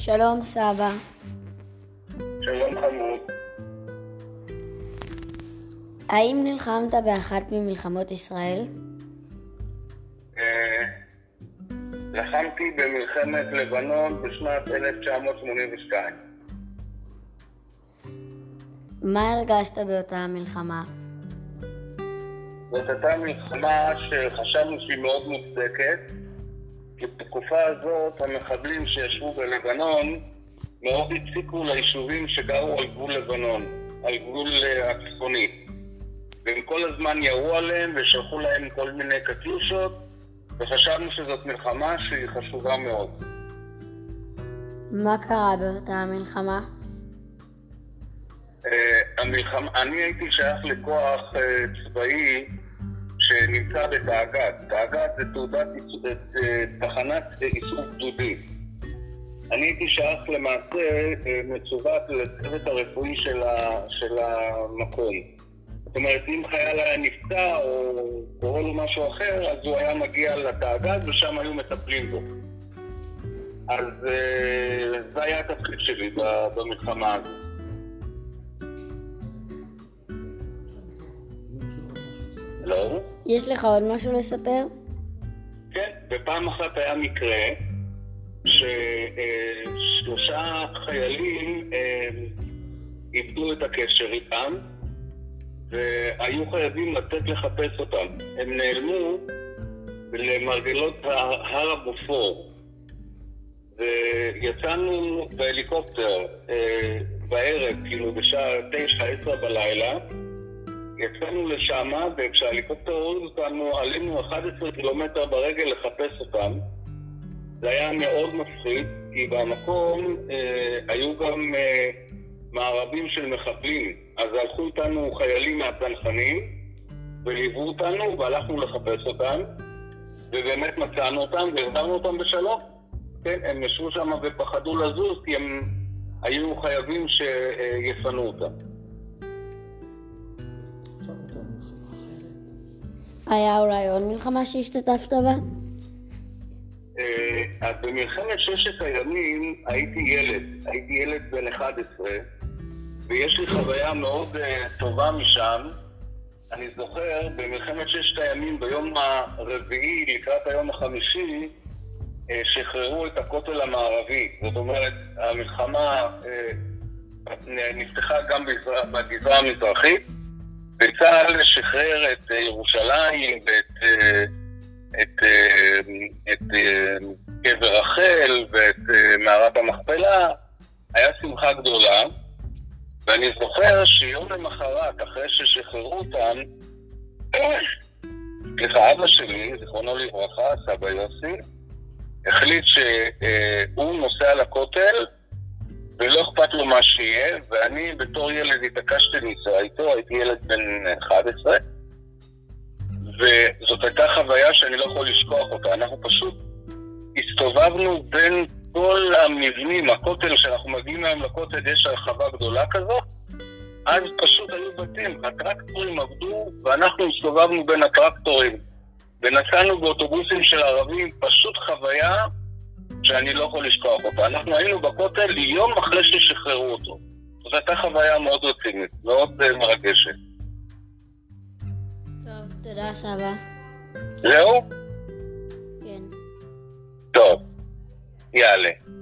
שלום סבא. שלום חמוד. האם נלחמת באחת ממלחמות ישראל? לחמתי במלחמת לבנון בשנת 1982. מה הרגשת באותה מלחמה? זאת הייתה מלחמה שחשבנו שהיא מאוד מוצדקת, כי בתקופה הזאת המחבלים שישבו בלבנון מאוד הציקו ליישובים שגרו על גבול לבנון, על גבול הצפוני. והם כל הזמן ירו עליהם ושלחו להם כל מיני קטיושות, וחשבנו שזאת מלחמה שהיא חשובה מאוד. מה קרה באותה מלחמה? אני הייתי שייך לכוח צבאי שנמצא בתאג"ד. תאג"ד זה תחנת איסוף גדודי. אני הייתי שייך למעשה מצוות לצוות הרפואי של המקום. זאת אומרת, אם חייל היה נפצע או קורה לו משהו אחר, אז הוא היה מגיע לתאג"ד ושם היו מטפלים בו. אז זה היה התפקיד שלי במלחמה הזאת. לא? יש לך עוד משהו לספר? כן, בפעם אחת היה מקרה ששלושה חיילים איבדו את הקשר איתם והיו חייבים לצאת לחפש אותם. הם נעלמו למרגלות הר הבופור ויצאנו בהליקופטר בערב, כאילו בשעה 9-10 בלילה. יצאנו לשם, וכשההליקופטר הוריד אותנו, עלינו 11 קילומטר ברגל לחפש אותם. זה היה מאוד מפחיד, כי במקום היו גם מערבים של מחבלים. אז הלכו איתנו חיילים מהצנחנים, וליוו אותנו, והלכנו לחפש אותם, ובאמת מצאנו אותם, והחזרנו אותם בשלום. כן, הם ישבו שם ופחדו לזוז, כי הם היו חייבים שיפנו אותם. היה אולי עוד מלחמה שהשתתפת בה? אז במלחמת ששת הימים הייתי ילד בן 11, ויש לי חוויה מאוד טובה משם. אני זוכר במלחמת ששת הימים ביום הרביעי לקראת היום החמישי שחררו את הכותל המערבי. זאת אומרת, המלחמה נפתחה גם בגזרה המזרחית, וצה"ל שחרר את ירושלים ואת קבר רחל ואת מערת המכפלה. היה שמחה גדולה, ואני זוכר שיום למחרת אחרי ששחררו אותם, אבא שלי, זיכרונו לברכה, סבא יוסי, החליט שהוא נוסע לכותל ולא אכפת לו מה שיהיה, ואני בתור ילד התעקשתי לנסוע איתו, הייתי ילד בן 11, וזאת הייתה חוויה שאני לא יכול לשכוח אותה. אנחנו פשוט הסתובבנו בין כל המבנים, הכותל שאנחנו מגיעים היום לכותל, יש הרחבה גדולה כזאת, אז פשוט היו בתים, הטרקטורים עבדו, ואנחנו הסתובבנו בין הטרקטורים, ונסענו באוטובוסים של ערבים, פשוט חוויה שאני לא יכול לשכוח אותה. אנחנו היינו בכותל יום אחרי ששחררו אותו. זאת הייתה חוויה מאוד רצינית, מאוד מרגשת. טוב, תודה סבא. זהו? כן. טוב, יאללה.